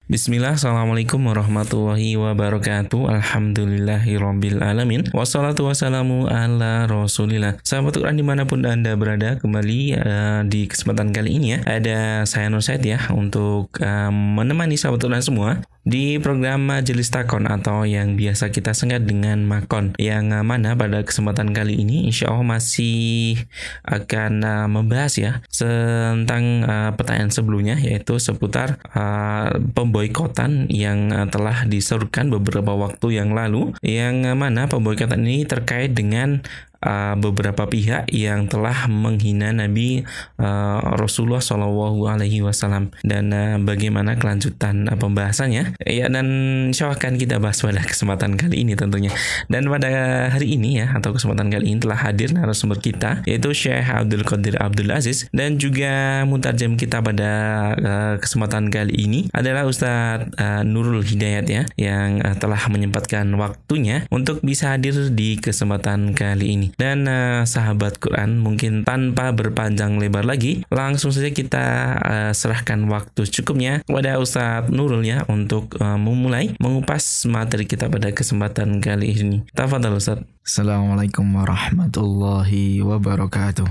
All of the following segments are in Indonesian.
Bismillah, Assalamualaikum warahmatullahi wabarakatuh. Alhamdulillahirabbil alamin. Wassalatu wassalamu ala Rasulillah. Sahabat Quran dimanapun Anda berada, kembali di kesempatan kali ini ya, ada saya Nur Said ya, untuk menemani sahabat Quran semua di program Majelis Takon atau yang biasa kita singkat dengan Makon, yang mana pada kesempatan kali ini insya Allah masih akan membahas ya tentang pertanyaan sebelumnya, yaitu seputar pemboikotan yang telah diserukan beberapa waktu yang lalu, yang mana pemboikotan ini terkait dengan beberapa pihak yang telah menghina Nabi Rasulullah Shallallahu Alaihi Wasallam, dan bagaimana kelanjutan pembahasannya ya, dan insya Allah akan kita bahas pada kesempatan kali ini tentunya. Dan pada hari ini ya, atau kesempatan kali ini telah hadir narasumber kita, yaitu Syekh Abdul Qadir Abdul Aziz, dan juga mutarjem kita pada kesempatan kali ini adalah Ustadz Nurul Hidayat ya, yang telah menyempatkan waktunya untuk bisa hadir di kesempatan kali ini. Dan sahabat Quran, mungkin tanpa berpanjang lebar lagi, langsung saja kita serahkan waktu cukupnya kepada Ustadz Nurul ya, untuk memulai mengupas materi kita pada kesempatan kali ini. Tafadhal Ustadz. Assalamualaikum warahmatullahi wabarakatuh.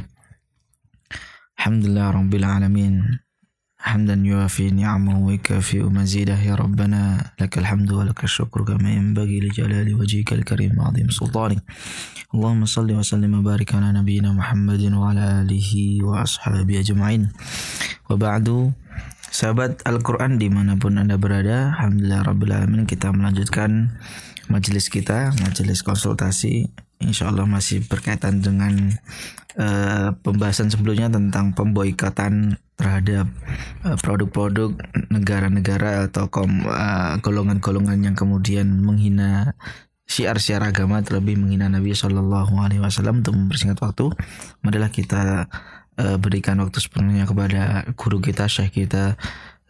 Alhamdulillah rabbil alamin. Hamdan yuafi ni'amahu wa yukafi'u mazidah. Ya Rabbana lakal hamdu wa lakal syukru kama yanbaghi li jalali wajhikal karim wa 'azim sultanik. Allahumma salli wa sallim wa barik ala nabiyyina Muhammadin wa ala alihi wa ashabihi ajma'in. Wa ba'du. Sahabat Al-Quran dimanapun Anda berada, alhamdulillah rabbil alamin, kita melanjutkan majelis kita, majelis konsultasi. InsyaAllah masih berkaitan dengan pembahasan sebelumnya tentang pemboikotan terhadap produk-produk negara-negara atau golongan-golongan yang kemudian menghina syiar-syiar agama, terlebih menghina Nabi Shallallahu Alaihi Wasallam. Untuk mempersingkat waktu, marilah kita berikan waktu sepenuhnya kepada guru kita, Syekh kita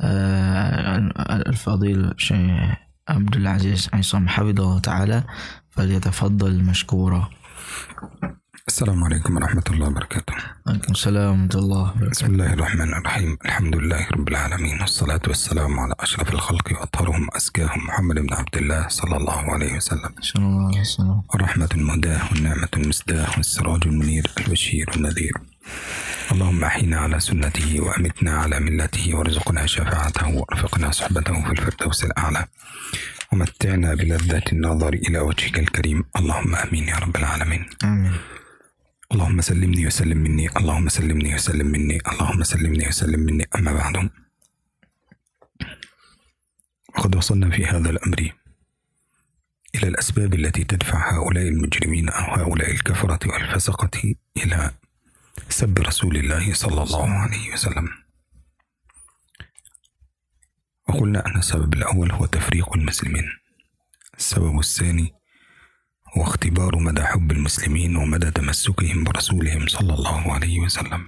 Al-Fadil Syekh Abdul Aziz Aisam Hafidhahullah Ta'ala, falyatafaddal mashkura. Assalamualaikum warahmatullahi wabarakatuh. Waalaikumsalam warahmatullahi wabarakatuh. Bismillahirrahmanirrahim. Alhamdulillahi rabbil alamin. Wassalatu wassalamu ala ashrafil khalqi wa atharuhum azkahum Muhammad ibn Abdullah sallallahu alaihi wasallam. Sallallahu alaihi wasallam. Rahmatul mudah wa ni'matul misdah wa sirajul munir al-bashir an-nadhir. اللهم أحينا على سنته وأمتنا على ملته وارزقنا شفاعته وارفقنا صحبته في الفردوس الأعلى ومتعنا بلذة النظر إلى وجهك الكريم. اللهم آمين يا رب العالمين. آمين. اللهم سلمني وسلم مني، اللهم سلمني وسلم مني، اللهم سلمني وسلم مني. أما بعد، وقد وصلنا في هذا الأمر إلى الأسباب التي تدفع هؤلاء المجرمين أو هؤلاء الكفرة والفسقة إلى سب رسول الله صلى الله عليه وسلم. وقلنا أن السبب الأول هو تفريق المسلمين. السبب الثاني هو اختبار مدى حب المسلمين ومدى تمسكهم برسولهم صلى الله عليه وسلم.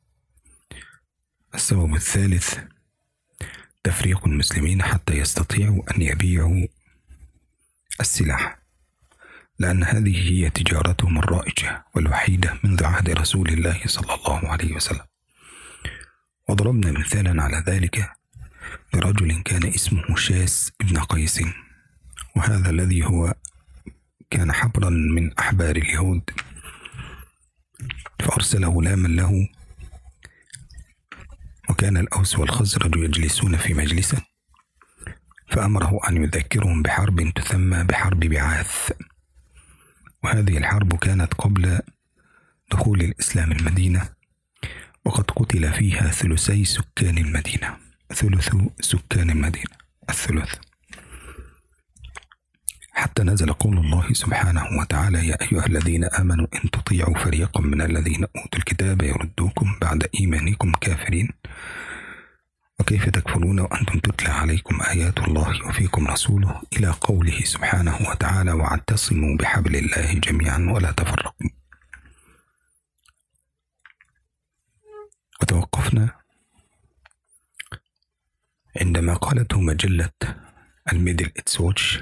السبب الثالث تفريق المسلمين حتى يستطيعوا أن يبيعوا السلاح، لأن هذه هي تجارتهم الرائجة والوحيدة منذ عهد رسول الله صلى الله عليه وسلم. وضربنا مثالا على ذلك برجل كان اسمه شاس ابن قيس، وهذا الذي هو كان حبرا من أحبار اليهود، فأرسل غلاما له، وكان الأوس والخزرج يجلسون في مجلسه، فأمره أن يذكرهم بحرب تسمى بحرب بعاث. وهذه الحرب كانت قبل دخول الإسلام المدينة، وقد قتل فيها ثلثي سكان المدينة، ثلث سكان المدينة، الثلث، حتى نزل قول الله سبحانه وتعالى: يا أيها الذين آمنوا إن تطيعوا فريقا من الذين أوتوا الكتاب يردوكم بعد إيمانكم كافرين وكيف تكفرون وأنتم تتلى عليكم آيات الله وفيكم رسوله، إلى قوله سبحانه وتعالى: واعتصموا بحبل الله جميعا ولا تفرقوا. وتوقفنا عندما قالته مجلة الميدل إيست ووتش،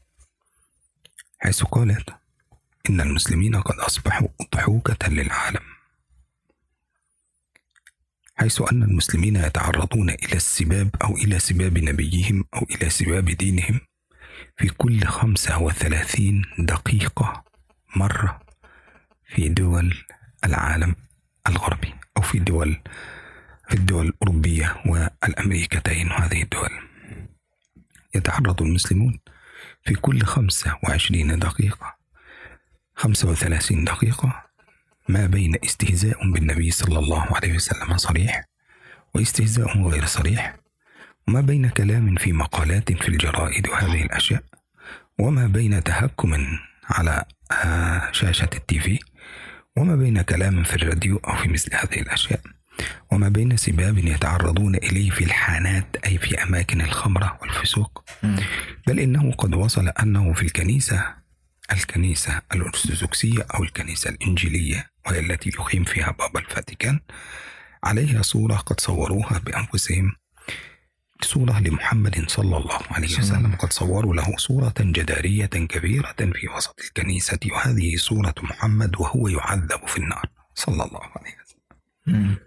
حيث قالت إن المسلمين قد أصبحوا أضحوكة للعالم، حيث أن المسلمين يتعرضون إلى السباب أو إلى سباب نبيهم أو إلى سباب دينهم في كل 35 دقيقة مرة في دول العالم الغربي أو في الدول الأوروبية والأمريكتين. وهذه الدول يتعرض المسلمون في كل 25 دقيقة 35 دقيقة ما بين استهزاء بالنبي صلى الله عليه وسلم صريح واستهزاء غير صريح، وما بين كلام في مقالات في الجرائد وهذه الأشياء، وما بين تهكم على شاشة التيفي، وما بين كلام في الراديو أو في مثل هذه الأشياء، وما بين سباب يتعرضون إليه في الحانات أي في أماكن الخمرة والفسوق. بل إنه قد وصل أنه في الكنيسة الأرثوذكسية أو الكنيسة الإنجيلية، وهي التي يقيم فيها بابا الفاتيكان، عليها صورة قد صوروها بأنفسهم، صورة لمحمد صلى الله عليه وسلم، قد صوروا له صورة جدارية كبيرة في وسط الكنيسة، وهذه صورة محمد وهو يعذب في النار صلى الله عليه وسلم.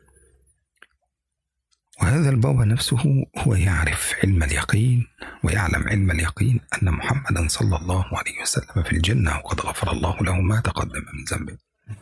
وهذا البابا نفسه هو يعرف علم اليقين ويعلم علم اليقين أن محمدا صلى الله عليه وسلم في الجنة، وقد غفر الله له ما تقدم من ذنبه.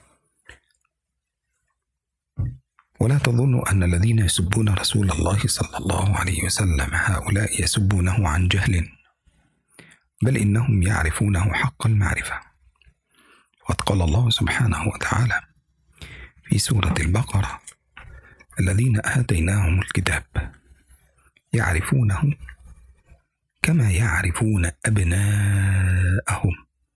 ولا تظنوا أن الذين يسبون رسول الله صلى الله عليه وسلم هؤلاء يسبونه عن جهل، بل إنهم يعرفونه حق المعرفة. وقد قال الله سبحانه وتعالى في سورة البقرة: الذين آتيناهم الكتاب يعرفونه كما يعرفون أبناءهم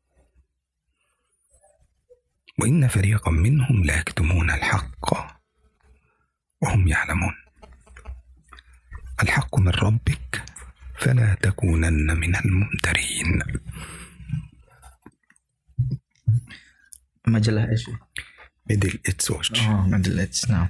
وإن فريقا منهم لا يكتمون الحق وهم يعلمون. الحق من ربك فلا تكونن من الممترين. majalah ايش؟ Middle East Watch. Middle East. Nah,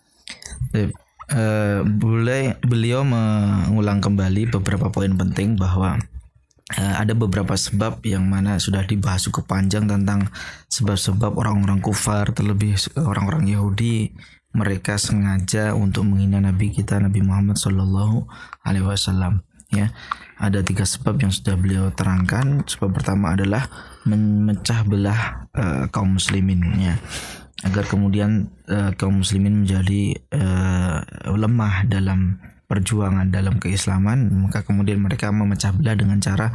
beliau mengulang kembali beberapa poin penting bahwa ada beberapa sebab yang mana sudah dibahas cukup panjang tentang sebab-sebab orang-orang kufar, terlebih orang-orang Yahudi, mereka sengaja untuk menghina Nabi kita Nabi Muhammad Sallallahu Alaihi Wasallam. Ya, ada 3 sebab yang sudah beliau terangkan. Sebab pertama adalah memecah belah kaum muslimin, ya, agar kemudian kaum muslimin menjadi lemah dalam perjuangan dalam keislaman, maka kemudian mereka memecah belah dengan cara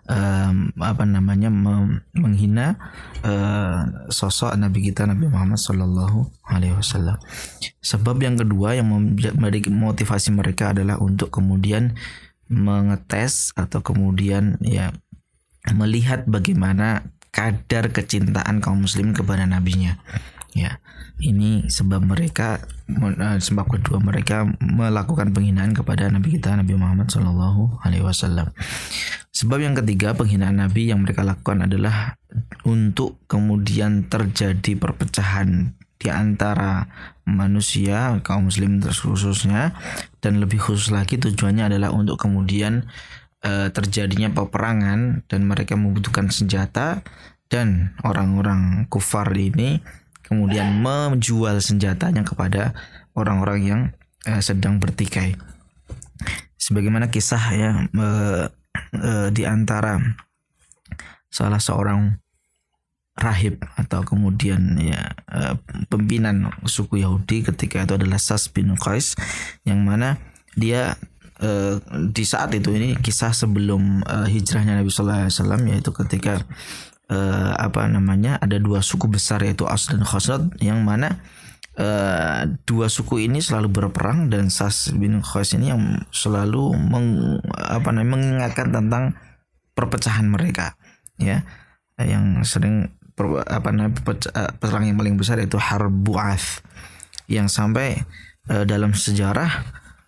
menghina sosok Nabi kita Nabi Muhammad Sallallahu Alaihi Wasallam. Sebab yang kedua yang menjadi motivasi mereka adalah untuk kemudian mengetes atau kemudian ya melihat bagaimana kadar kecintaan kaum muslimin kepada nabinya. Ya, ini sebab kedua mereka melakukan penghinaan kepada Nabi kita Nabi Muhammad Sallallahu Alaihi Wasallam. Sebab yang ketiga penghinaan Nabi yang mereka lakukan adalah untuk kemudian terjadi perpecahan di antara manusia kaum muslim khususnya, dan lebih khusus lagi tujuannya adalah untuk kemudian terjadinya peperangan dan mereka membutuhkan senjata, dan orang-orang kufar ini kemudian menjual senjatanya kepada orang-orang yang sedang bertikai. Sebagaimana kisah ya di antara salah seorang rahib atau kemudian ya pimpinan suku Yahudi ketika itu adalah Sas bin Qais, yang mana dia di saat itu, ini kisah sebelum hijrahnya Nabi Sallallahu Alaihi Wasallam, yaitu ketika ada 2 suku besar yaitu Aus dan Khazraj, yang mana 2 suku ini selalu berperang, dan Sas bin Qais ini yang selalu mengingatkan tentang perpecahan mereka, ya, yang sering perang yang paling besar yaitu Harb Bu'ath, yang sampai dalam sejarah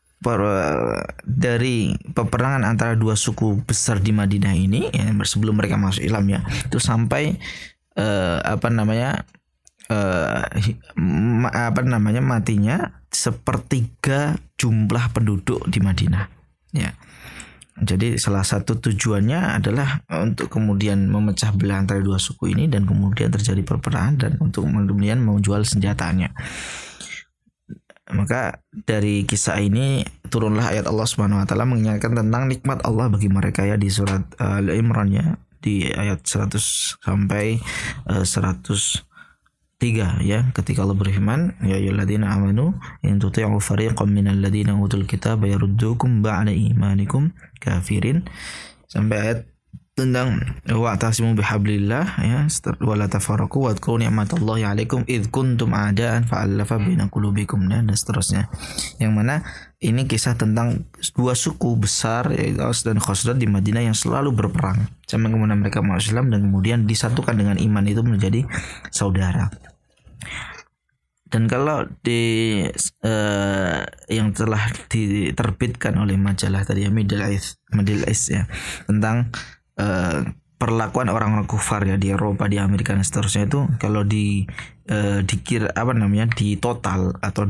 dari peperangan antara 2 suku besar di Madinah ini ya, sebelum mereka masuk Islam ya, itu sampai matinya 1/3 jumlah penduduk di Madinah, ya. Jadi salah satu tujuannya adalah untuk kemudian memecah belah antara 2 suku ini, dan kemudian terjadi perpecahan, dan untuk kemudian menjual senjatanya. Maka dari kisah ini turunlah ayat Allah Subhanahu wa taala mengingatkan tentang nikmat Allah bagi mereka ya di surat Al-Imran ya, di ayat 100 sampai 103 ya, ketika Allah berfirman ya ayyuhalladzina amanu in tuti'u fariqan minal ladzina utul kitaba yaruddukum ba'da imanikum kafirin, sampai ayat tentang wa'tasimu bihablillah ya wala tafarraqu wadhkuru ni'matallahi 'alaikum id kuntum a'daan fa'alafa baina qulubikum dan seterusnya, yang mana ini kisah tentang dua suku besar yaitu Aus dan Khazraj di Madinah yang selalu berperang sampai kemudian mereka masuk Islam dan kemudian disatukan dengan iman itu menjadi saudara. Dan kalau di yang telah diterbitkan oleh majalah tadi ya Middle East ya tentang perlakuan orang-orang kufar ya di Eropa, di Amerika dan seterusnya, itu kalau dikira di total atau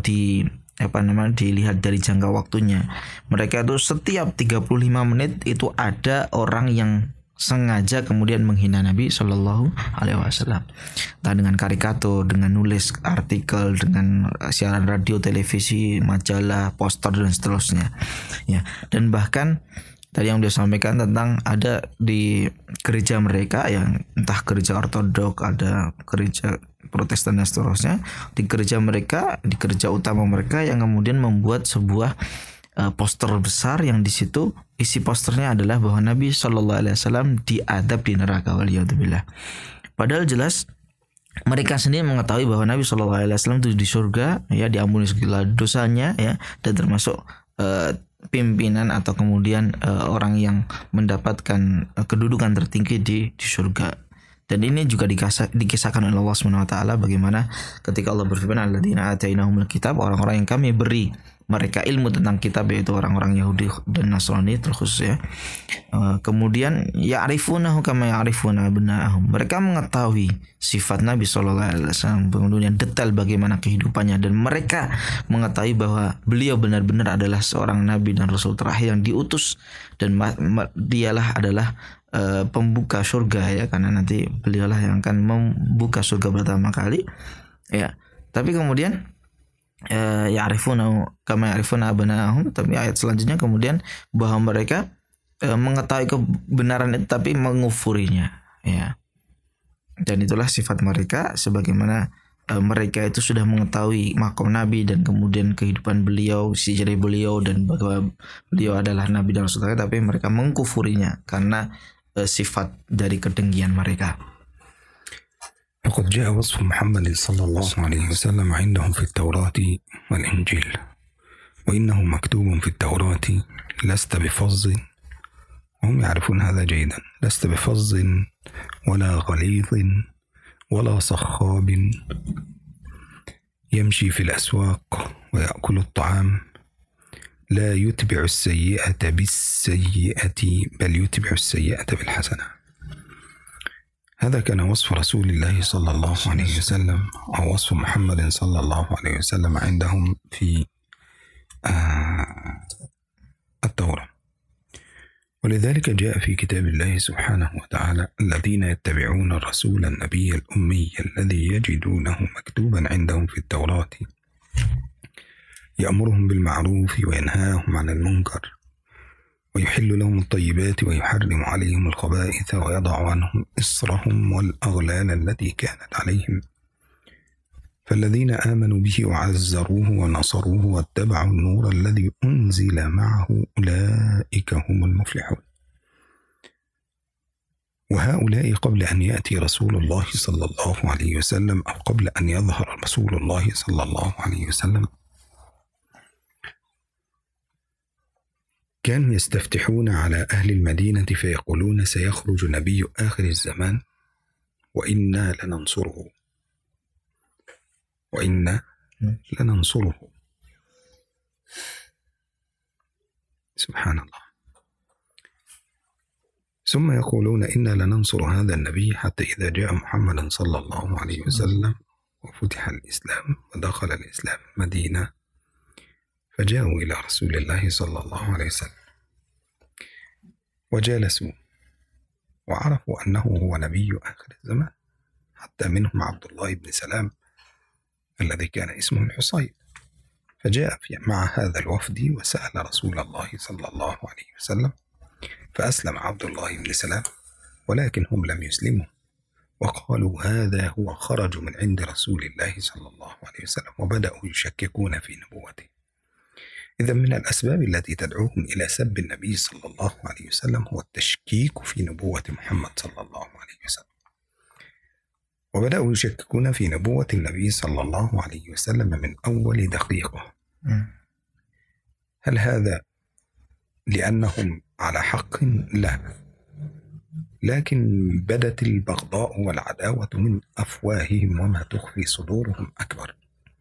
dilihat dari jangka waktunya, mereka itu setiap 35 menit itu ada orang yang sengaja kemudian menghina Nabi Shallallahu Alaihi Wasallam, entah dengan karikatur, dengan nulis artikel, dengan siaran radio, televisi, majalah, poster dan seterusnya ya. Dan bahkan tadi yang dia sampaikan tentang ada di gereja mereka yang entah gereja ortodok, ada gereja Protestan dan seterusnya, di gereja mereka, di gereja utama mereka yang kemudian membuat sebuah poster besar yang di situ isi posternya adalah bahwa Nabi Shallallahu Alaihi Wasallam diadab di neraka, waliyadzubillah. Padahal jelas mereka sendiri mengetahui bahwa Nabi Shallallahu Alaihi Wasallam itu di surga ya, diampuni segala dosanya ya, dan termasuk pimpinan atau kemudian orang yang mendapatkan kedudukan tertinggi di surga. Dan ini juga dikisahkan oleh Allah Subhanahu wa taala bagaimana ketika Allah berfirman alladzina atainahumul kitab, orang-orang yang kami beri mereka ilmu tentang kitab, yaitu orang-orang Yahudi dan Nasrani terkhusus ya. Kemudian ya'rifunahu kama ya'rifuna abna'ahum, mereka mengetahui sifat Nabi sallallahu alaihi wasallam, kemudian detail bagaimana kehidupannya, dan mereka mengetahui bahwa beliau benar-benar adalah seorang nabi dan rasul terakhir yang diutus, dan dialah adalah pembuka surga ya, karena nanti beliaulah yang akan membuka surga pertama kali ya. Tapi kemudian ya'rifuna kama ya'rifuna abna'ahum, tapi ayat selanjutnya kemudian bahwa mereka mengetahui kebenaran itu tapi mengufurinya ya. Dan itulah sifat mereka, sebagaimana mereka itu sudah mengetahui makom Nabi dan kemudian kehidupan beliau, sejarah beliau, dan bahwa beliau adalah Nabi dan Rasul, tapi mereka mengkufurinya karena sifat dari kedengkian mereka. فقد جاء وصف محمد صلى الله عليه وسلم عندهم في التوراة والإنجيل، وإنه مكتوب في التوراة لست بفظ، وهم يعرفون هذا جيدا، لست بفظ ولا غليظ ولا صخاب، يمشي في الأسواق ويأكل الطعام، لا يتبع السيئة بالسيئة بل يتبع السيئة بالحسنة. هذا كان وصف رسول الله صلى الله عليه وسلم، أو وصف محمد صلى الله عليه وسلم عندهم في التوراة. ولذلك جاء في كتاب الله سبحانه وتعالى الذين يتبعون الرسول النبي الأمي الذي يجدونه مكتوبا عندهم في التوراة يأمرهم بالمعروف وينهاهم عن المنكر ويحل لهم الطيبات ويحرم عليهم الخبائث ويضع عنهم إصرهم والأغلال التي كانت عليهم، فالذين آمنوا به وعزروه ونصروه واتبعوا النور الذي أنزل معه أولئك هم المفلحون. وهؤلاء قبل أن يأتي رسول الله صلى الله عليه وسلم، أو قبل أن يظهر رسول الله صلى الله عليه وسلم، كانوا يستفتحون على أهل المدينة فيقولون سيخرج نبي آخر الزمان وإنا لننصره وإنا لننصره. سبحان الله. ثم يقولون إنا لننصر هذا النبي حتى إذا جاء محمد صلى الله عليه وسلم وفتح الإسلام ودخل الإسلام مدينة، فجاءوا إلى رسول الله صلى الله عليه وسلم وجالسوا وعرفوا أنه هو نبي آخر الزمان، حتى منهم عبد الله بن سلام الذي كان اسمه الحصين، فجاء مع هذا الوفد وسأل رسول الله صلى الله عليه وسلم، فأسلم عبد الله بن سلام، ولكن هم لم يسلموا، وقالوا هذا هو خرج من عند رسول الله صلى الله عليه وسلم، وبدأوا يشككون في نبوته. إذا من الأسباب التي تدعوهم إلى سب النبي صلى الله عليه وسلم هو التشكيك في نبوة محمد صلى الله عليه وسلم، وبدأوا يشككون في نبوة النبي صلى الله عليه وسلم من أول دقيقة. هل هذا لأنهم على حق؟ لا، لكن بدت البغضاء والعداوة من أفواههم وما تخفي صدورهم أكبر.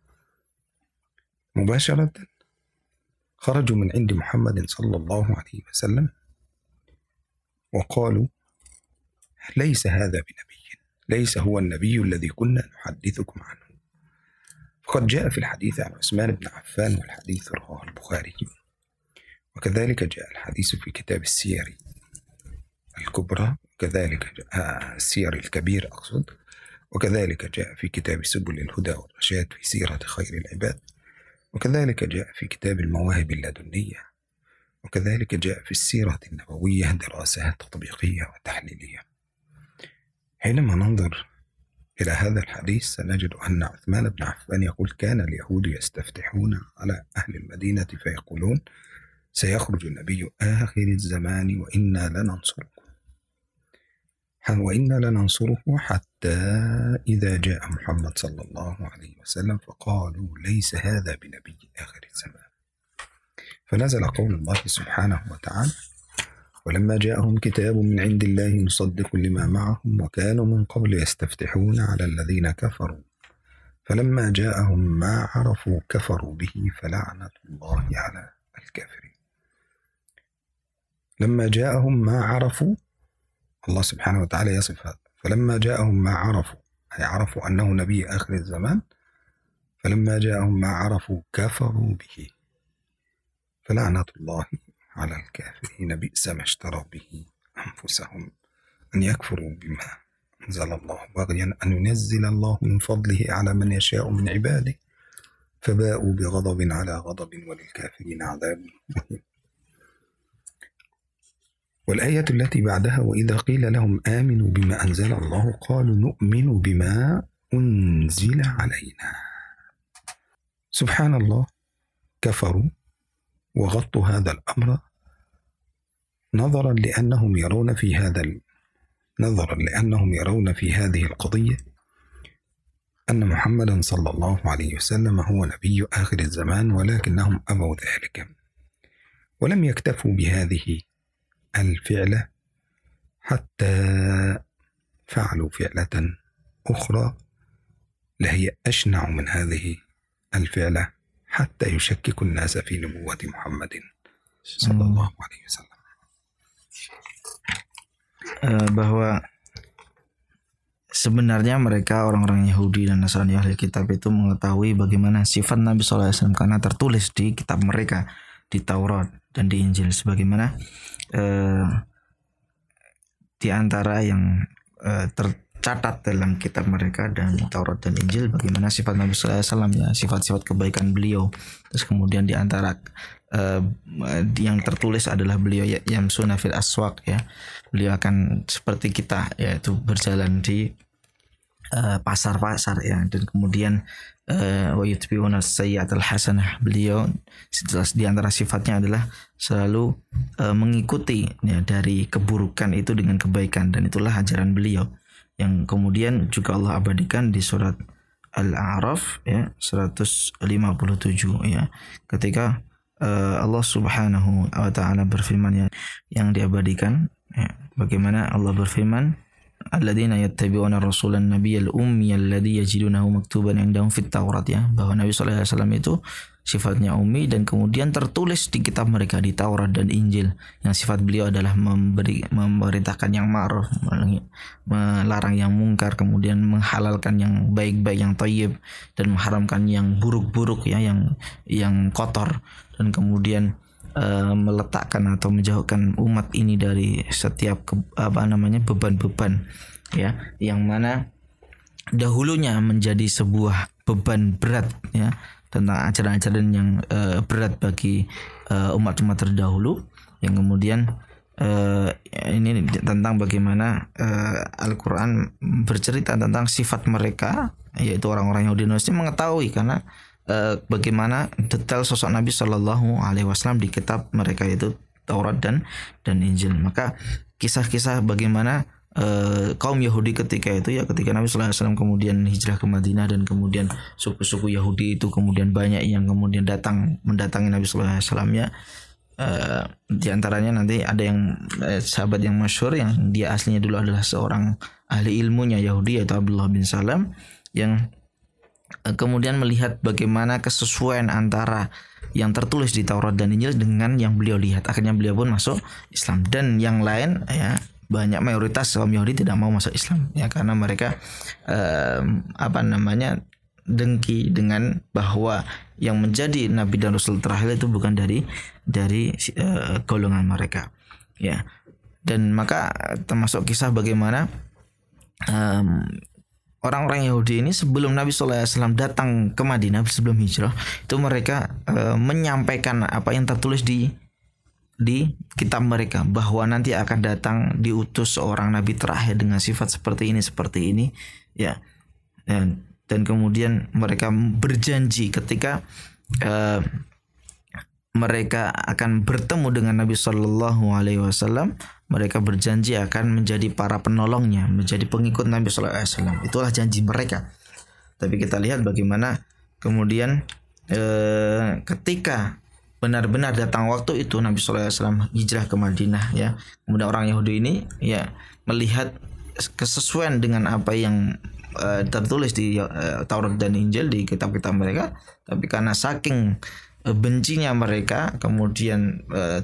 مباشرة خرجوا من عند محمد صلى الله عليه وسلم وقالوا ليس هذا بنبي، ليس هو النبي الذي كنا نحدثكم عنه. فقد جاء في الحديث عن عثمان بن عفان، والحديث رواه البخاري، وكذلك جاء الحديث في كتاب السير الكبرى، وكذلك جاء السير الكبير أقصد، وكذلك جاء في كتاب سبل الهدى والرشاد في سيرة خير العباد، وكذلك جاء في كتاب المواهب اللدنية، وكذلك جاء في السيرة النبوية دراسات تطبيقية وتحليلية. حينما ننظر إلى هذا الحديث سنجد أن عثمان بن عفان يقول كان اليهود يستفتحون على أهل المدينة فيقولون سيخرج النبي آخر الزمان وإنا لننصره حتى إذا جاء محمد صلى الله عليه وسلم فقالوا ليس هذا بنبي آخر الزمان. فنزل قول الله سبحانه وتعالى ولما جاءهم كتاب من عند الله مصدق لما معهم وكانوا من قبل يستفتحون على الذين كفروا فلما جاءهم ما عرفوا كفروا به فلعنة الله على الكافرين. لما جاءهم ما عرفوا، الله سبحانه وتعالى يصف هذا، فلما جاءهم ما عرفوا أي عرفوا أنه نبي آخر الزمان، فلما جاءهم ما عرفوا كفروا به فلعنة الله على الكافرين بئس ما اشتروا به أنفسهم أن يكفروا بما أنزل الله بغيا أن ينزل الله من فضله على من يشاء من عباده فباءوا بغضب على غضب وللكافرين عذاب مهين. والآية التي بعدها وإذا قيل لهم آمنوا بما أنزل الله قالوا نؤمن بما أنزل علينا. سبحان الله، كفروا وغطوا هذا الأمر نظرا لأنهم يرون في هذه القضية أن محمدا صلى الله عليه وسلم هو نبي آخر الزمان، ولكنهم أبوا ذلك ولم يكتفوا بهذه الفعلة حتى فعلوا فعلة أخرى لهي أشنع من هذه الفعلة حتى يشكك الناس في نبوة محمد صلى الله عليه وسلم. Bahwa sebenarnya mereka orang-orang Yahudi dan Nasrani ahli kitab itu mengetahui bagaimana sifat Nabi SAW karena tertulis di kitab mereka, di Taurat dan di Injil, sebagaimana di antara yang tercatat dalam kitab mereka dan Taurat dan Injil bagaimana sifat Nabi SAW, ya, sifat-sifat kebaikan beliau. Terus kemudian di antara yang tertulis adalah beliau yamsuna fil aswaq, ya, beliau akan seperti kita, yaitu berjalan di pasar-pasar, ya, dan kemudian wa yutbi'una sayyi'atal hasanah, beliau di antara sifatnya adalah selalu mengikuti, ya, dari keburukan itu dengan kebaikan, dan itulah ajaran beliau yang kemudian juga Allah abadikan di surat Al-A'raf, ya, 157, ya, ketika Allah Subhanahu wa taala berfirman, yang diabadikan, ya, bagaimana Allah berfirman alladzina yattabi'una rasulan nabiyyal ummiyal ladzi yajidunahu maktuban indahum fit Taurat, ya, bahwa Nabi sallallahu alaihi wasallam itu sifatnya ummi dan kemudian tertulis di kitab mereka di Taurat dan Injil, yang sifat beliau adalah memerintahkan yang ma'ruf, melarang yang mungkar, kemudian menghalalkan yang baik-baik, yang thayyib, dan mengharamkan yang buruk-buruk, ya, yang kotor, dan kemudian meletakkan atau menjauhkan umat ini dari setiap beban-beban, ya, yang mana dahulunya menjadi sebuah beban berat, ya, tentang ajaran-ajaran yang berat bagi umat-umat terdahulu, yang kemudian ini tentang bagaimana Al-Quran bercerita tentang sifat mereka, yaitu orang-orang Yahudi Nasrani mengetahui karena bagaimana detail sosok Nabi Shallallahu Alaihi Wasallam di kitab mereka, yaitu Taurat dan Injil. Maka kisah-kisah bagaimana kaum Yahudi ketika itu, ya ketika Nabi Sallallahu Alaihi Wasallam kemudian hijrah ke Madinah, dan kemudian suku-suku Yahudi itu kemudian banyak yang kemudian mendatangi Nabi Sallallahu Alaihi Wasallam, ya. Di antaranya nanti ada yang sahabat yang masyhur yang dia aslinya dulu adalah seorang ahli ilmunya Yahudi, yaitu Abdullah bin Salam, yang kemudian melihat bagaimana kesesuaian antara yang tertulis di Taurat dan Injil dengan yang beliau lihat. Akhirnya beliau pun masuk Islam, dan yang lain, ya, banyak mayoritas kaum Yahudi tidak mau masuk Islam, ya, karena mereka dengki dengan bahwa yang menjadi nabi dan rasul terakhir itu bukan dari golongan mereka, ya. Dan maka termasuk kisah bagaimana orang-orang Yahudi ini sebelum Nabi SAW datang ke Madinah, sebelum hijrah, itu mereka menyampaikan apa yang tertulis di kitab mereka, bahwa nanti akan datang diutus seorang nabi terakhir dengan sifat seperti ini, ya. Dan kemudian mereka berjanji ketika mereka akan bertemu dengan Nabi Shallallahu Alaihi Wasallam, mereka berjanji akan menjadi para penolongnya, menjadi pengikut Nabi Shallallahu Alaihi Wasallam. Itulah janji mereka. Tapi kita lihat bagaimana kemudian ketika benar-benar datang waktu itu, Nabi Shallallahu Alaihi Wasallam hijrah ke Madinah, ya. Kemudian orang Yahudi ini, ya, melihat kesesuaian dengan apa yang tertulis di Taurat dan Injil, di kitab-kitab mereka, tapi karena saking bencinya mereka, kemudian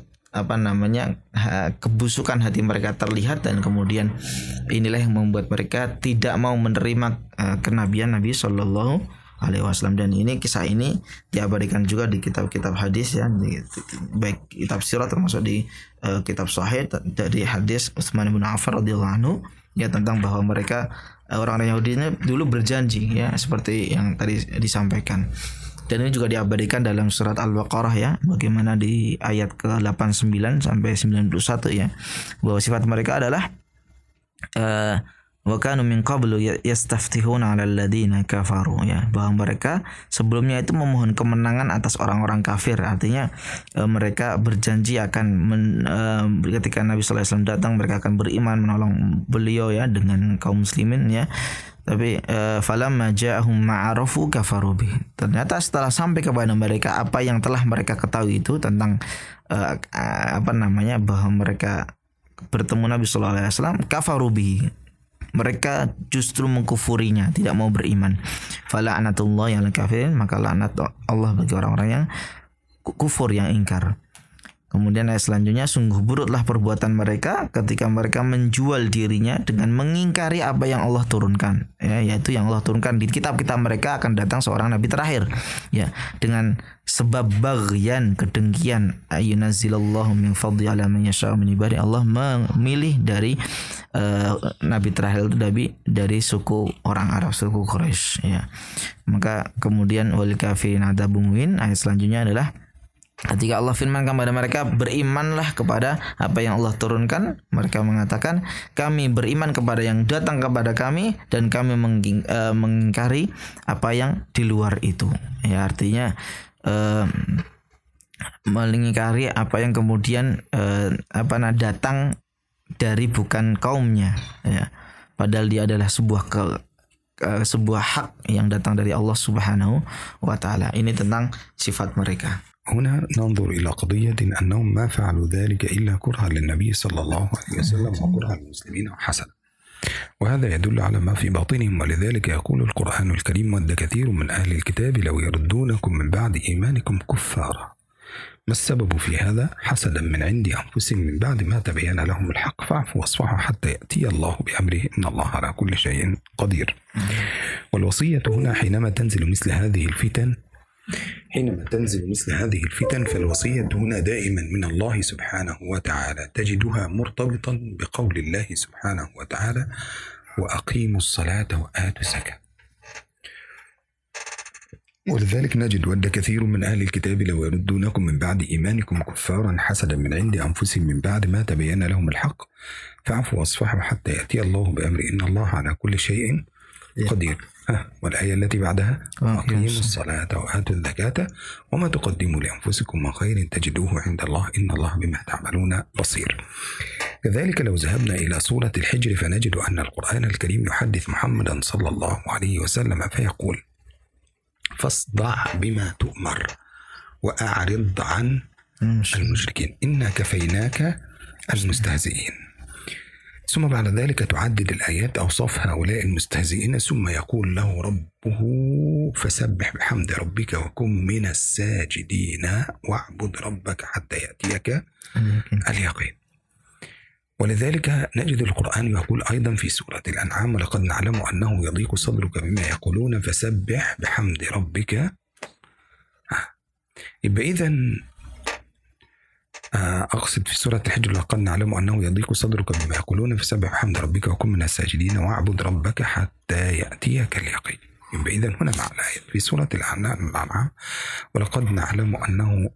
kebusukan hati mereka terlihat, dan kemudian inilah yang membuat mereka tidak mau menerima kenabian Nabi Shallallahu Alaihi Wasallam. Dan ini, kisah ini diabadikan juga di kitab-kitab hadis, ya, baik kitab sirah termasuk di kitab Sahih dari hadis Utsman bin Affan radhiyallahu anhu, ya, tentang bahwa mereka orang-orang Yahudi ini dulu berjanji, ya, seperti yang tadi disampaikan. Dan ini juga diabadikan dalam surat Al-Baqarah, ya, bagaimana di ayat ke-89 sampai 91, ya, bahwa sifat mereka adalah wa kanu min qablu yastaftihuna 'alal ladzina kafaru, ya, bahwa mereka sebelumnya itu memohon kemenangan atas orang-orang kafir. Artinya mereka berjanji akan ketika Nabi sallallahu alaihi wasallam datang, mereka akan beriman menolong beliau, ya, dengan kaum muslimin, ya. Tapi falamma ja'ahum ma'arafu kafaru bih. Ternyata setelah sampai kepada mereka apa yang telah mereka ketahui itu tentang bahwa mereka bertemu Nabi sallallahu alaihi wasallam, kafaru bih, mereka justru mengkufurinya, tidak mau beriman. Fala anatullahi 'alal kafirin, maka laknat Allah bagi orang-orang yang kufur, yang ingkar. Kemudian ayat selanjutnya, sungguh buruklah perbuatan mereka ketika mereka menjual dirinya dengan mengingkari apa yang Allah turunkan, ya, yaitu yang Allah turunkan di kitab-kitab mereka akan datang seorang nabi terakhir, ya, dengan sebab baghyan, kedengkian, ayunazzilallahu min fadli ala man yasha'u min ibadi, Allah memilih dari nabi terakhir itu dari suku orang Arab, suku Quraisy, ya. Maka kemudian wal kafirin adzabun muhin. Ayat selanjutnya adalah ketika Allah firmankan kepada mereka, berimanlah kepada apa yang Allah turunkan, mereka mengatakan, kami beriman kepada yang datang kepada kami, dan kami mengingkari apa yang di luar itu, ya. Artinya mengingkari apa yang kemudian datang dari bukan kaumnya, ya. Padahal dia adalah sebuah hak yang datang dari Allah Subhanahu wa taala. Ini tentang sifat mereka. هنا ننظر إلى قضية أنهم ما فعلوا ذلك إلا كرها للنبي صلى الله عليه وسلم وكرها للمسلمين وحسنا، وهذا يدل على ما في باطنهم. ولذلك يقول القرآن الكريم: ود كثير من أهل الكتاب لو يردونكم من بعد إيمانكم كفارا. ما السبب في هذا؟ حسدا من عند أنفسهم من بعد ما تبين لهم الحق، فاعفوا واصفحوا حتى يأتي الله بأمره، إن الله على كل شيء قدير. والوصية هنا حينما تنزل مثل هذه الفتن فالوصية هنا دائما من الله سبحانه وتعالى، تجدها مرتبطا بقول الله سبحانه وتعالى: وأقيموا الصلاة وآتوا الزكاة. ولذلك نجد ود كثير من أهل الكتاب لو يردونكم من بعد إيمانكم كفارا حسدا من عند أنفسهم من بعد ما تبين لهم الحق فاعفوا واصفحوا حتى يأتي الله بأمره إن الله على كل شيء قدير. والآية التي بعدها وأقيموا الصلاة وآتوا الزكاة وما تقدموا لأنفسكم من خير تجدوه عند الله إن الله بما تعملون بصير. كذلك لو ذهبنا إلى سورة الحجر فنجد أن القرآن الكريم يحدث محمدا صلى الله عليه وسلم فيقول فاصدع بما تؤمر وأعرض عن المشركين إنا كفيناك المستهزئين. ثم بعد ذلك تعدد الآيات أوصاف هؤلاء المستهزئين ثم يقول له ربه فسبح بحمد ربك وكن من الساجدين واعبد ربك حتى يأتيك اليقين. ولذلك نجد القرآن يقول أيضا في سورة الأنعام ولقد نعلم أنه يضيق صدرك بما يقولون فسبح بحمد ربك. يبقى إذن أقصد في سورة الحجر لقد نعلم أنه يضيق صدرك بما يقولون فسبح بحمد ربك وكن من الساجدين واعبد ربك حتى يأتيك اليقين. يبقى إذن هنا مع الآية في سورة الأنعام ولقد نعلم أنه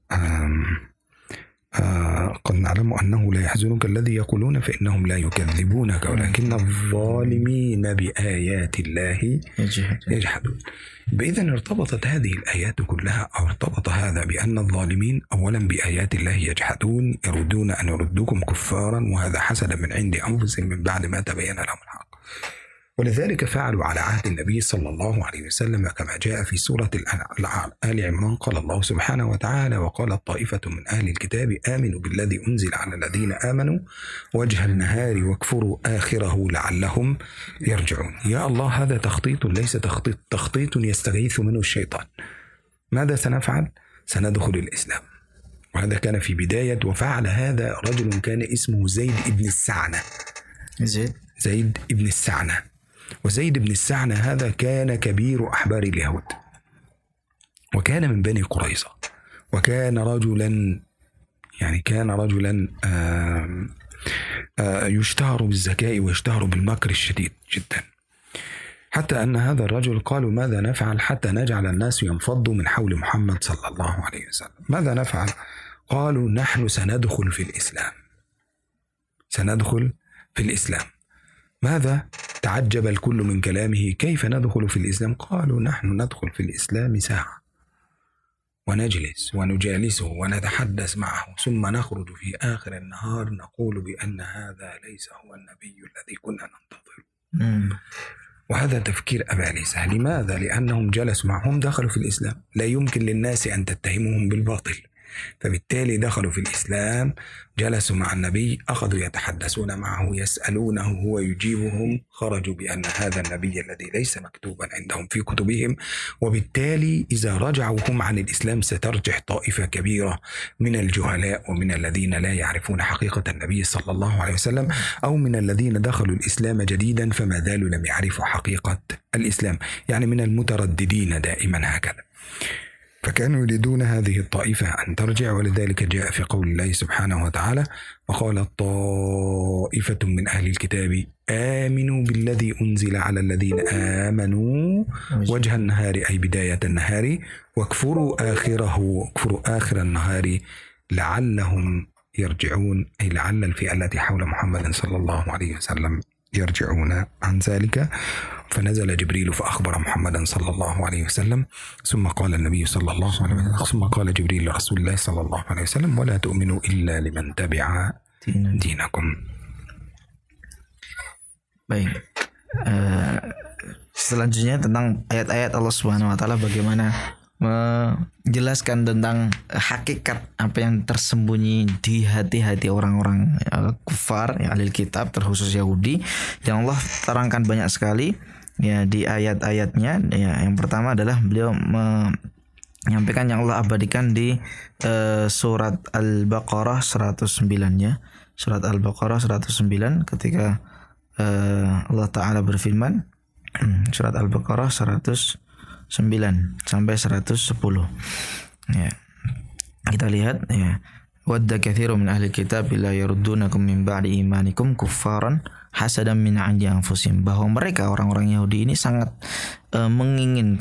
قد نعلم أنه لا يحزنك الذي يقولون فإنهم لا يكذبونك ولكن الظالمين بآيات الله يجحدون. إذن ارتبطت هذه الآيات كلها أو ارتبط هذا بأن الظالمين أولا بآيات الله يجحدون يريدون أن يردوكم كفارا وهذا حسدا من عند أنفسهم من بعد ما تبين لهم الحق. ولذلك فعلوا على عهد النبي صلى الله عليه وسلم كما جاء في سورة آل عمران قال الله سبحانه وتعالى وقالت طائفة من أهل الكتاب آمنوا بالذي أنزل على الذين آمنوا وجه النهار واكفروا آخره لعلهم يرجعون. يا الله هذا تخطيط ليس تخطيط يستغيث منه الشيطان. ماذا سنفعل؟ سندخل الإسلام. وهذا كان في بداية وفعل هذا رجل كان اسمه زيد ابن السعنة. زيد ابن السعنة. وزيد بن السعنة هذا كان كبير أحبار اليهود وكان من بني قريظة وكان رجلا يشتهر بالذكاء ويشتهر بالمكر الشديد جدا حتى أن هذا الرجل قالوا ماذا نفعل حتى نجعل الناس ينفضوا من حول محمد صلى الله عليه وسلم. ماذا نفعل؟ قالوا نحن سندخل في الإسلام. ماذا؟ تعجب الكل من كلامه كيف ندخل في الإسلام؟ قالوا نحن ندخل في الإسلام ساعة ونجلس ونجالسه ونتحدث معه ثم نخرج في آخر النهار نقول بأن هذا ليس هو النبي الذي كنا ننتظره. وهذا تفكير أبالسة. لماذا؟ لأنهم جلسوا معهم دخلوا في الإسلام. لا يمكن للناس أن تتهمهم بالباطل فبالتالي دخلوا في الإسلام جلسوا مع النبي أخذوا يتحدثون معه يسألونه هو يجيبهم خرجوا بأن هذا النبي الذي ليس مكتوبا عندهم في كتبهم. وبالتالي إذا رجعوا هم عن الإسلام سترجح طائفة كبيرة من الجهلاء ومن الذين لا يعرفون حقيقة النبي صلى الله عليه وسلم أو من الذين دخلوا الإسلام جديدا فما زالوا لم يعرفوا حقيقة الإسلام يعني من المترددين دائما هكذا. فكانوا يريدون هذه الطائفة أن ترجع. ولذلك جاء في قول الله سبحانه وتعالى وقالت طائفة من أهل الكتاب آمنوا بالذي أنزل على الذين آمنوا وجه النهار أي بداية النهار واكفروا آخر النهار لعلهم يرجعون أي لعل الفئة التي حول محمد صلى الله عليه وسلم يرجعون عن ذلك. فنزل جبريل فأخبر محمدا صلى الله عليه وسلم ثم قال النبي صلى الله عليه وسلم ثم قال جبريل لرسول الله صلى الله عليه وسلم ولا تؤمنوا إلا لمن تبع دينكم. Baik. Selanjutnya tentang ayat-ayat Allah Subhanahu wa taala bagaimana menjelaskan tentang hakikat apa yang tersembunyi di hati-hati orang-orang kufar ya ahli kitab terkhusus Yahudi yang Allah terangkan banyak sekali ya di ayat-ayatnya. Ya, yang pertama adalah beliau menyampaikan yang Allah abadikan di surat Al-Baqarah 109 ya. Surat Al-Baqarah 109 ketika Allah Ta'ala berfirman surat Al-Baqarah 109 sampai 110 ya. Kita lihat ya. Wadda katsiru min ahli kitab la yaruddunakum min ba'di imanikum kuffaran hasadan min 'indi anfusihim, bahwa mereka orang-orang Yahudi ini sangat menginginkan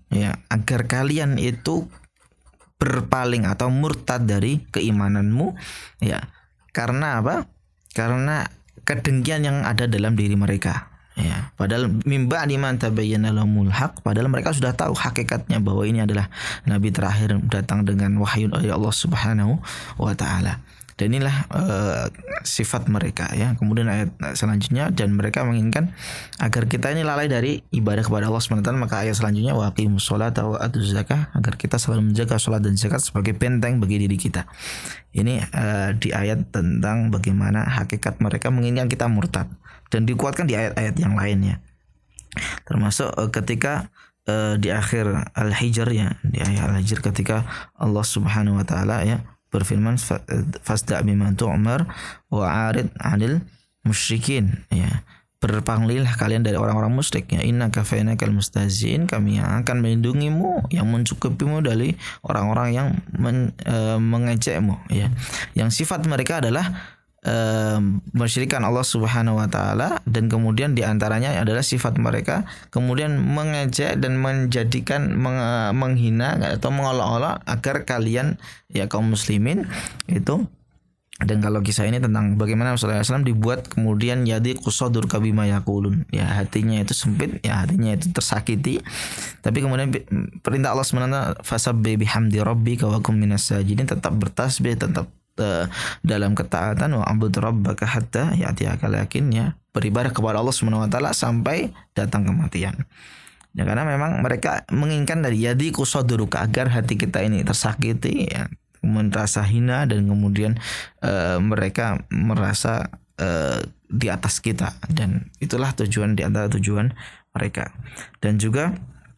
ya, agar kalian itu berpaling atau murtad dari keimananmu, ya. Karena apa? Karena kedengkian yang ada dalam diri mereka. Ya, padahal mimba liman tabayyana lahumul haq, padahal mereka sudah tahu hakikatnya bahwa ini adalah nabi terakhir datang dengan wahyu dari Allah Subhanahu wa taala. Dan inilah sifat mereka, ya. Kemudian ayat selanjutnya, dan mereka menginginkan agar kita ini lalai dari ibadah kepada Allah SWT. Maka ayat selanjutnya, wa aqimus sholata wa atuz zakah, agar kita selalu menjaga sholat dan zakat sebagai benteng bagi diri kita. Ini di ayat tentang bagaimana hakikat mereka menginginkan kita murtad, dan dikuatkan di ayat-ayat yang lainnya. Termasuk ketika di akhir Al-Hijr, ya, di ayat Al-Hijr ketika Allah Subhanahu wa taala, ya, berfirman, fasda' bima tu'mar wa 'arid 'anil musyrikin, ya. Berpalingilah kalian dari orang-orang musyrik, ya. Inna kafainakal mustahzi'in, kami yang akan melindungimu, yang mencukupimu dari orang-orang yang mengejekmu, ya. Yang sifat mereka adalah mensyirikan Allah Subhanahu wa taala, dan kemudian diantaranya adalah sifat mereka kemudian mengejek dan menjadikan menghina atau mengolok-olok agar kalian, ya, kaum muslimin itu. Dan kalau kisah ini tentang bagaimana Rasulullah SAW dibuat kemudian yadi qusadur kabima yaqulun, ya, hatinya itu sempit, ya, hatinya itu tersakiti, tapi kemudian perintah Allah SWT, fasabbih bihamdi rabbika wa kum minas sajidin, tetap bertasbih, tetap dalam ketaatan, wa abud rabbaka hatta ya'tiyakal yakin, ya, beribadah kepada Allah Subhanahu wa taala sampai datang kematian. Ya, karena memang mereka menginginkan dari yadi qusaduruka, agar hati kita ini tersakiti, ya, merasa hina, dan kemudian mereka merasa di atas kita, dan itulah tujuan di antara tujuan mereka. Dan juga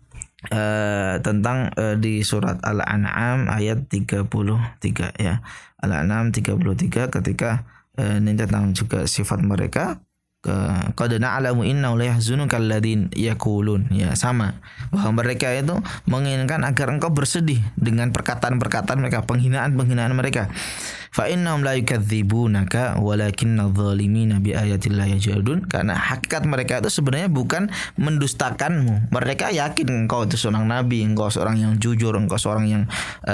tentang di surat Al-An'am ayat 33, ya, Al-An'am 33, ketika ini tentang juga sifat mereka, qad na'lamu innahu la yahzunuka alladhin yaqulun, ya, sama, bahwa mereka itu menginginkan agar engkau bersedih dengan perkataan-perkataan mereka, penghinaan-penghinaan mereka. Fa innahum la yukadzibunaka walakinna adh-dhalimina bi ayatillahi yajhadun, karena hakikat mereka itu sebenarnya bukan mendustakanmu. Mereka yakin engkau itu seorang nabi, engkau seorang yang jujur, engkau seorang yang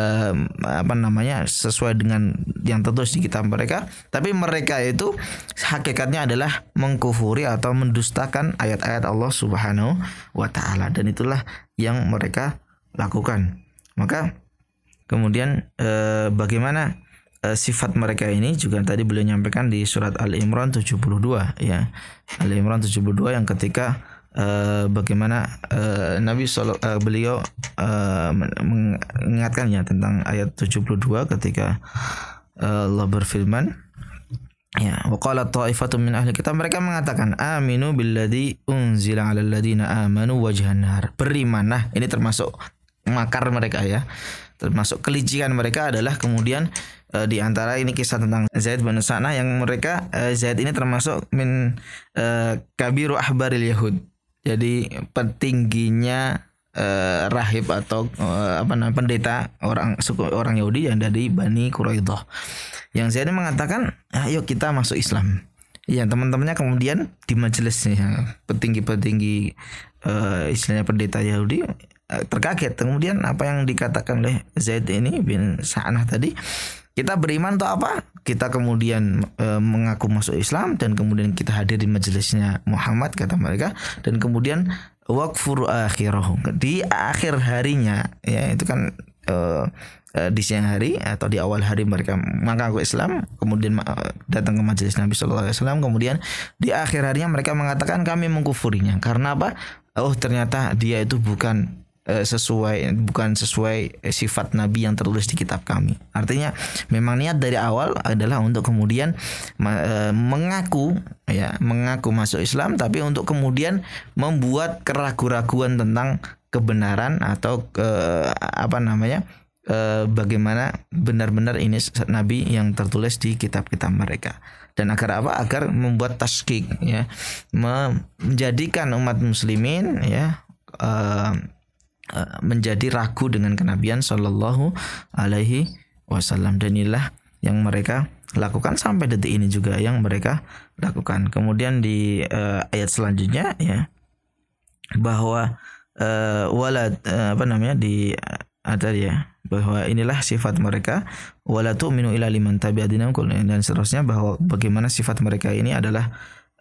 sesuai dengan yang tertulis di kitab mereka, tapi mereka itu hakikatnya adalah mengkufuri atau mendustakan ayat-ayat Allah Subhanahu wa taala, dan itulah yang mereka lakukan. Maka kemudian bagaimana sifat mereka ini juga tadi beliau nyampaikan di surat Al-Imran 72, ya. Al-Imran 72 yang ketika bagaimana beliau mengingatkan, ya, tentang ayat 72 ketika Allah berfirman, ya, waqala ta'ifatun min ahli kitab, mereka mengatakan aminu billadzi unzila 'alal ladzina amanu wajhan nahar, berimanlah. Ini termasuk makar mereka, ya, termasuk kelicikan mereka adalah kemudian di antara ini kisah tentang Zaid bin Sa'nah, yang mereka Zaid ini termasuk min kabiru ahbaril yahud, jadi petingginya rahib atau pendeta orang Yahudi yang dari Bani Quraidah. Yang Zaid mengatakan, ayo kita masuk Islam. Ya, teman-temannya kemudian di majelisnya, petinggi-petinggi istilahnya pendeta Yahudi terkaget. Kemudian apa yang dikatakan oleh Zaid ini bin Sa'nah tadi, kita beriman untuk apa? Kita kemudian mengaku masuk Islam, dan kemudian kita hadir di majelisnya Muhammad, kata mereka, dan kemudian waqfur akhirahu, di akhir harinya, ya, itu kan di siang hari atau di awal hari mereka mengaku Islam, kemudian datang ke majelis Nabi SAW, kemudian di akhir harinya mereka mengatakan kami mengkufurinya. Karena apa? Oh, ternyata dia itu bukan sesuai sifat Nabi yang tertulis di kitab kami. Artinya memang niat dari awal adalah untuk kemudian mengaku masuk Islam, tapi untuk kemudian membuat keraguan-raguan tentang kebenaran atau bagaimana benar-benar ini Nabi yang tertulis di kitab-kitab mereka. Dan agar apa? Agar membuat taskik, ya, menjadikan umat muslimin, ya, menjadi ragu dengan kenabian sallallahu alaihi wasallam. Dan inilah yang mereka lakukan sampai detik ini juga yang mereka lakukan. Kemudian di ayat selanjutnya, ya, bahwa ada ya, bahwa inilah sifat mereka, wala tu'minu illa liman tabi'a dinakum, dan seterusnya, bahwa bagaimana sifat mereka ini adalah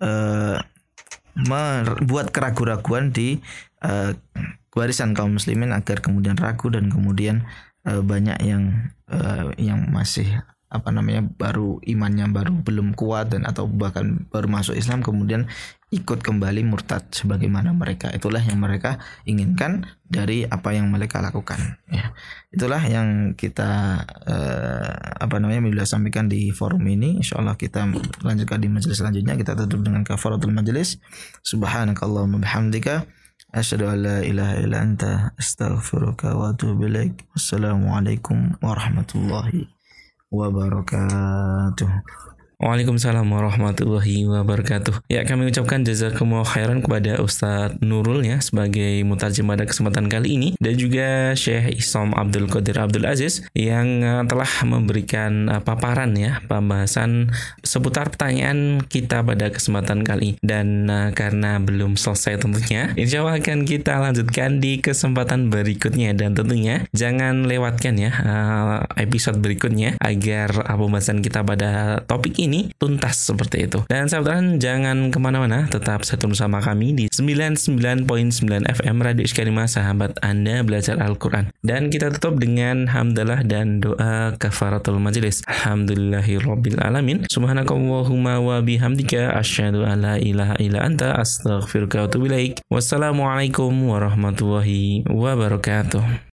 membuat keraguan-raguan di barisan kaum muslimin agar kemudian ragu dan kemudian banyak yang masih baru imannya belum kuat dan atau bahkan baru masuk Islam kemudian ikut kembali murtad sebagaimana mereka. Itulah yang mereka inginkan dari apa yang mereka lakukan, ya. Itulah yang kita bila sampaikan di forum ini. Insyaallah kita lanjutkan di majelis selanjutnya. Kita tutup dengan kafaratul majelis. Subhanakallahumma bihamdika asyhadu an la ilaha illa anta astaghfiruka wa atubu ilaik. Wassalamualaikum warahmatullahi wabarakatuh. Waalaikumsalam warahmatullahi wabarakatuh. Ya, kami ucapkan jazakumullah khairan kepada Ustadz Nurul ya sebagai mutarjem pada kesempatan kali ini, dan juga Syekh Isom Abdul Qadir Abdul Aziz yang telah memberikan paparan ya, pembahasan seputar pertanyaan kita pada kesempatan kali. Dan karena belum selesai tentunya, insya Allah akan kita lanjutkan di kesempatan berikutnya, dan tentunya jangan lewatkan ya episode berikutnya agar pembahasan kita pada topik ini tuntas seperti itu. Dan sahabat, jangan kemana-mana, tetap satu bersama kami di 99.9 FM Radio Iskarima, sahabat Anda belajar Al-Quran. Dan kita tutup dengan hamdalah dan doa kafaratul majelis. Alhamdulillahirabbil alamin. Subhanakallahumma wa bihamdika asyhadu an la ilaha illa anta astaghfiruka wa atubu ilaik. Wassalamualaikum warahmatullahi wabarakatuh.